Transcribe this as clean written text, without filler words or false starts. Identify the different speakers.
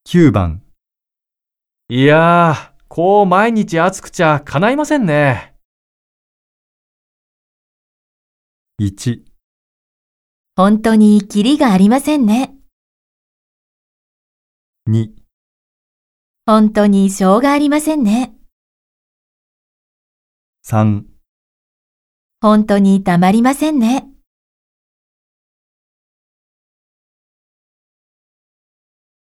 Speaker 1: 9番、
Speaker 2: いやー、こう毎日暑くちゃ叶いませんね。
Speaker 1: 1、
Speaker 3: 本当にキリがありませんね。
Speaker 1: 2、
Speaker 3: 本当にしょうがありませんね。
Speaker 1: 3
Speaker 3: 本当にたまりませんね。